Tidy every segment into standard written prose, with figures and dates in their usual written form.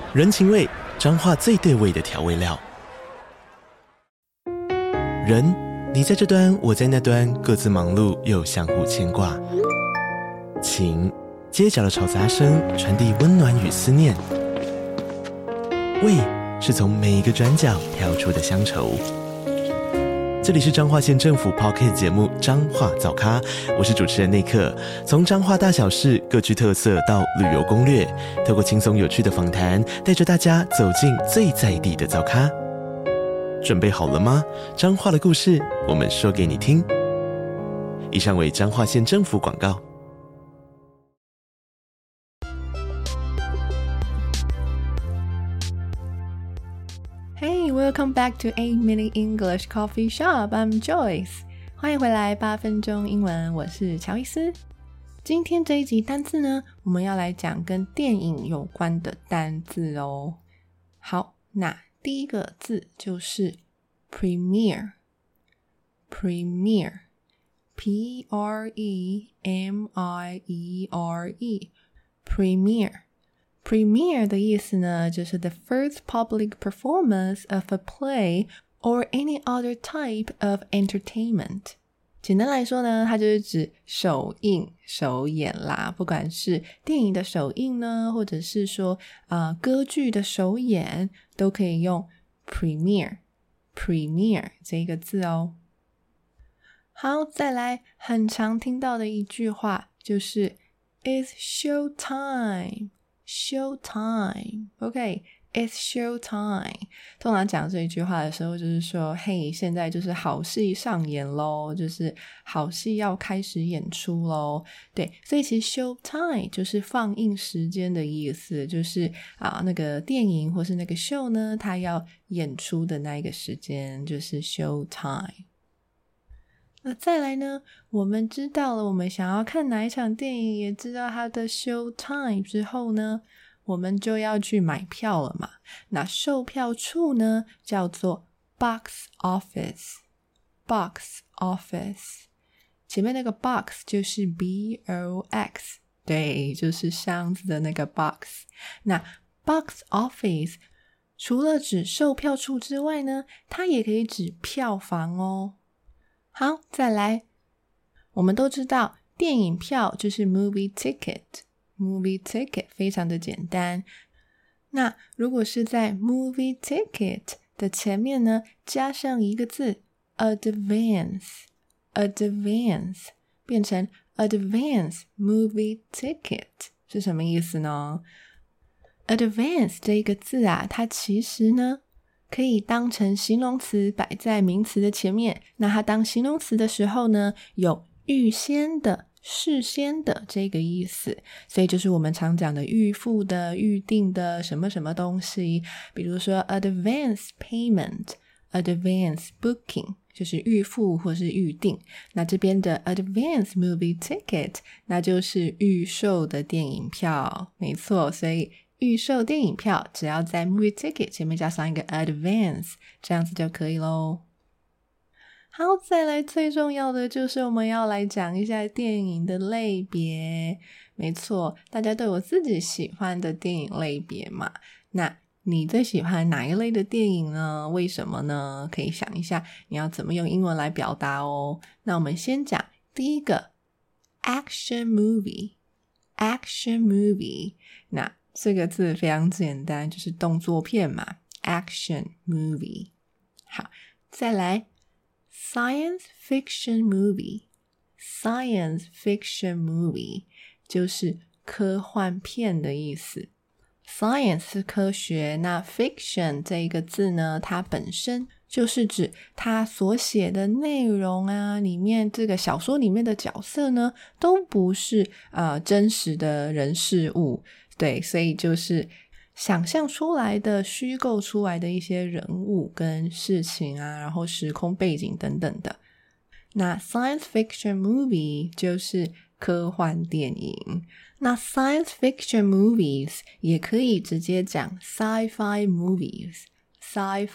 人情味，彰化最对味的调味料。人，你在这端，我在那端，各自忙碌又相互牵挂。情，街角的吵杂声传递温暖与思念。味，是从每一个转角跳出的乡愁。这里是彰化县政府 Podcast 节目《彰化早咖》，我是主持人内克。从彰化大小事各具特色到旅游攻略，透过轻松有趣的访谈，带着大家走进最在地的早咖。准备好了吗？彰化的故事，我们说给你听。以上为彰化县政府广告。 Hey, welcome back to 8-Minute English Coffee Shop. I'm Joyce. 欢迎回来8分钟英文，我是乔伊斯。今天这一集单字呢，我们要来讲跟电影有关的单字哦。好，那第一个字就是 Premiere. Premiere. P-R-E-M-I-E-R-E. Premiere.Premiere 的意思呢，就是 the first public performance of a play or any other type of entertainment。 简单来说呢，它就是指首映、首演啦，不管是电影的首映呢，或者是说歌剧的首演，都可以用 premiere 这个字哦。好，再来很常听到的一句话就是 It's showtime。Showtime. OK, it's showtime. 通常讲这一句话的时候就是说，嘿，现在就是好戏上演咯，就是好戏要开始演出咯。对，所以其实 showtime 就是放映时间的意思，就是那个电影或是那个 show 呢，它要演出的那一个时间就是 showtime。那再来呢，我们知道了我们想要看哪一场电影，也知道它的 show time 之后呢，我们就要去买票了嘛。那售票处呢，叫做 box office。 box office 前面那个 box 就是 B-O-X， 对，就是箱子的那个 box。 那 box office 除了指售票处之外呢，它也可以指票房哦。好，再来，我们都知道电影票就是 movie ticket 非常的简单。那如果是在 movie ticket 的前面呢，加上一个字 advance 变成 advance movie ticket 是什么意思呢？ advance 这个字它其实呢可以当成形容词摆在名词的前面，那它当形容词的时候呢，有预先的、事先的这个意思，所以就是我们常讲的预付的、预定的什么什么东西，比如说 advance payment、advance booking 就是预付或是预定，那这边的 advance movie ticket 那就是预售的电影票，没错，所以预售电影票只要在 movie ticket 前面加上一个 advance， 这样子就可以咯。好，再来最重要的就是我们要来讲一下电影的类别。没错，大家都有自己喜欢的电影类别嘛，那你最喜欢哪一类的电影呢？为什么呢？可以想一下你要怎么用英文来表达哦。那我们先讲第一个 action movie。 那这个字非常简单，就是动作片嘛， action movie。 好，再来 science fiction movie 就是科幻片的意思。 science 是科学，那 fiction 这一个字呢，它本身就是指它所写的内容里面这个小说里面的角色呢，都不是真实的人事物，对，所以就是想象出来的、虚构出来的一些人物跟事情然后时空背景等等的。那 science fiction movie 就是科幻电影，那 science fiction movies 也可以直接讲 sci-fi movies，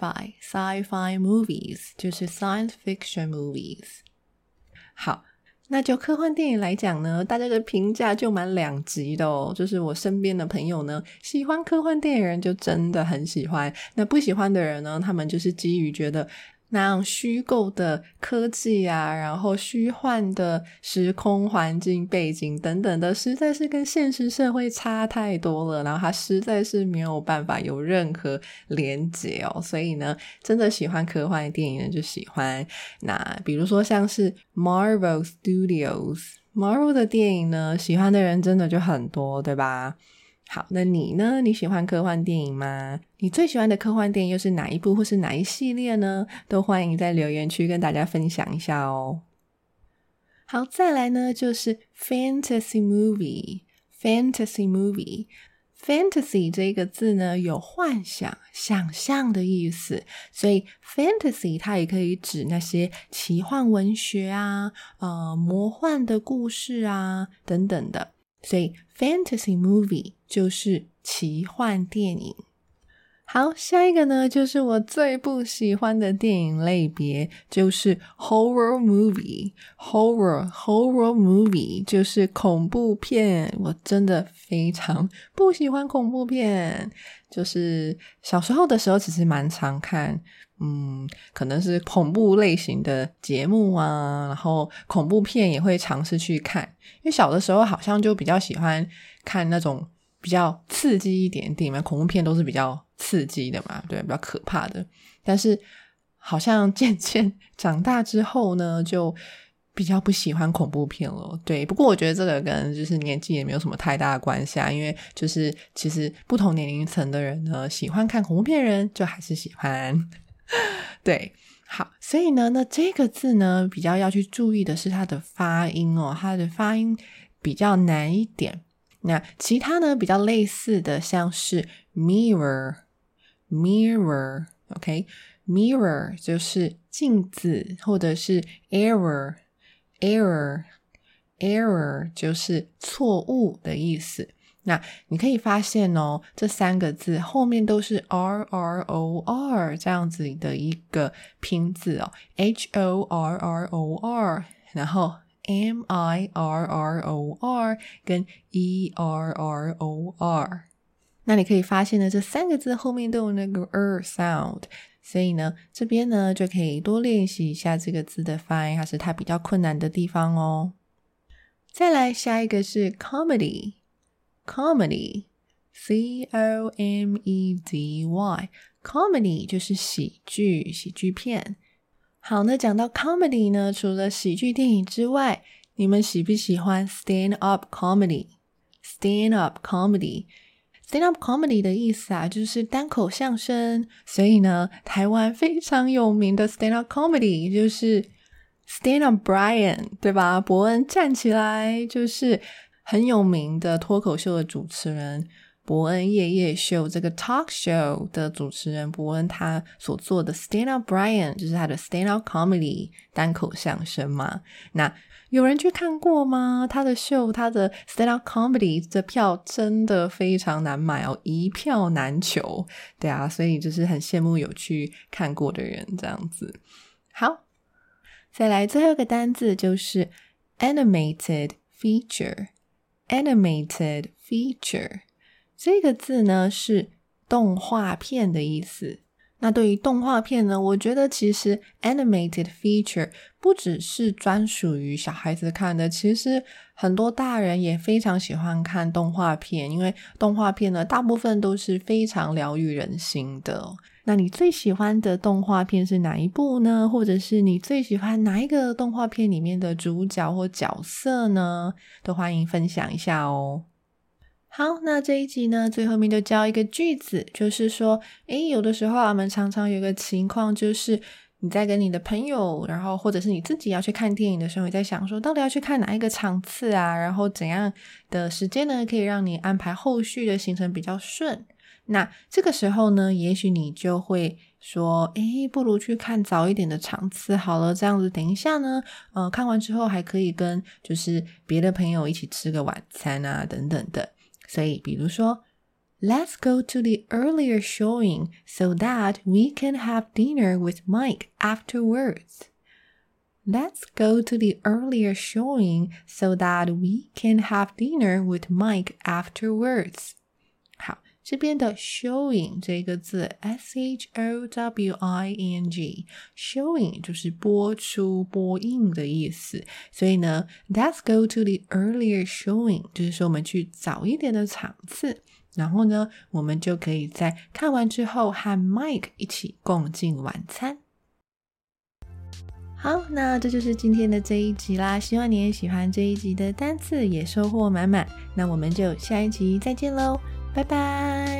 sci-fi movies 就是 science fiction movies。 好， 那就科幻电影来讲呢，大家的评价就蛮两极的哦。就是我身边的朋友呢，喜欢科幻电影人就真的很喜欢，那不喜欢的人呢，他们就是基于觉得那样虚构的科技啊，然后虚幻的时空环境背景等等的，实在是跟现实社会差太多了，然后它实在是没有办法有任何连结哦。所以呢，真的喜欢科幻电影的就喜欢。那比如说像是 Marvel Studios，Marvel 的电影呢，喜欢的人真的就很多，对吧？好，那你呢？你喜欢科幻电影吗？你最喜欢的科幻电影又是哪一部或是哪一系列呢？都欢迎在留言区跟大家分享一下哦。好，再来呢就是 Fantasy Movie。Fantasy Movie，Fantasy 这个字呢有幻想、想象的意思，所以 Fantasy 它也可以指那些奇幻文学啊、魔幻的故事啊等等的。所以 Fantasy Movie 就是奇幻电影。好，下一个呢就是我最不喜欢的电影类别，就是 Horror Movie。Horror Movie 就是恐怖片，我真的非常不喜欢恐怖片。就是小时候的时候其实蛮常看可能是恐怖类型的节目啊，然后恐怖片也会尝试去看，因为小的时候好像就比较喜欢看那种比较刺激一点电影嘛，恐怖片都是比较刺激的嘛，对，比较可怕的。但是好像渐渐长大之后呢，就比较不喜欢恐怖片了。对，不过我觉得这个跟就是年纪也没有什么太大的关系啊，因为就是其实不同年龄层的人呢，喜欢看恐怖片的人就还是喜欢。对，好，所以呢，那这个字呢，比较要去注意的是它的发音哦，它的发音比较难一点。那其他呢，比较类似的，像是 mirror， mirror 就是镜子，或者是 error 就是错误的意思。那你可以发现哦，这三个字后面都是 RROR 这样子的一个拼字哦， HORROR， 然后 MIRROR 跟 ERROR。 那你可以发现呢，这三个字后面都有那个 sound， 所以呢这边呢就可以多练习一下这个字的发音，还是它比较困难的地方哦。再来下一个是 comedy C-O-M-E-D-Y， comedy 就是喜剧片。好，那讲到 comedy 呢，除了喜剧电影之外，你们喜不喜欢 stand up comedy 的意思啊，就是单口相声。所以呢，台湾非常有名的 stand up comedy 就是 Stand Up Brian， 对吧？伯恩站起来，就是很有名的脱口秀的主持人，伯恩夜夜秀这个 talk show 的主持人伯恩，他所做的 Stand Up Brian 就是他的 Stand Up Comedy 单口相声嘛。那有人去看过吗？他的秀，他的 Stand Up Comedy 的票真的非常难买哦，一票难求。对啊，所以就是很羡慕有去看过的人这样子。好，再来最后一个单字就是 animated feature。 这个字呢是动画片的意思。那对于动画片呢，我觉得其实 animated feature 不只是专属于小孩子看的，其实很多大人也非常喜欢看动画片，因为动画片呢大部分都是非常疗愈人心的。那你最喜欢的动画片是哪一部呢？或者是你最喜欢哪一个动画片里面的主角或角色呢？都欢迎分享一下哦。好，那这一集呢，最后面就教一个句子，就是说有的时候我们常常有个情况，就是你在跟你的朋友，然后或者是你自己要去看电影的时候，你在想说到底要去看哪一个场次啊，然后怎样的时间呢可以让你安排后续的行程比较顺。那这个时候呢，也许你就会说不如去看早一点的场次好了，这样子等一下呢看完之后还可以跟就是别的朋友一起吃个晚餐啊等等的。所以比如说 Let's go to the earlier showing so that we can have dinner with Mike afterwards。 Let's go to the earlier showing so that we can have dinner with Mike afterwards. 好，这边的 showing 这个字 showing showing 就是播出播映的意思，所以呢 let's go to the earlier showing 就是说我们去早一点的场次，然后呢我们就可以在看完之后和 Mike 一起共进晚餐。好，那这就是今天的这一集啦，希望你也喜欢这一集的单字，也收获满满。那我们就下一集再见咯，拜拜。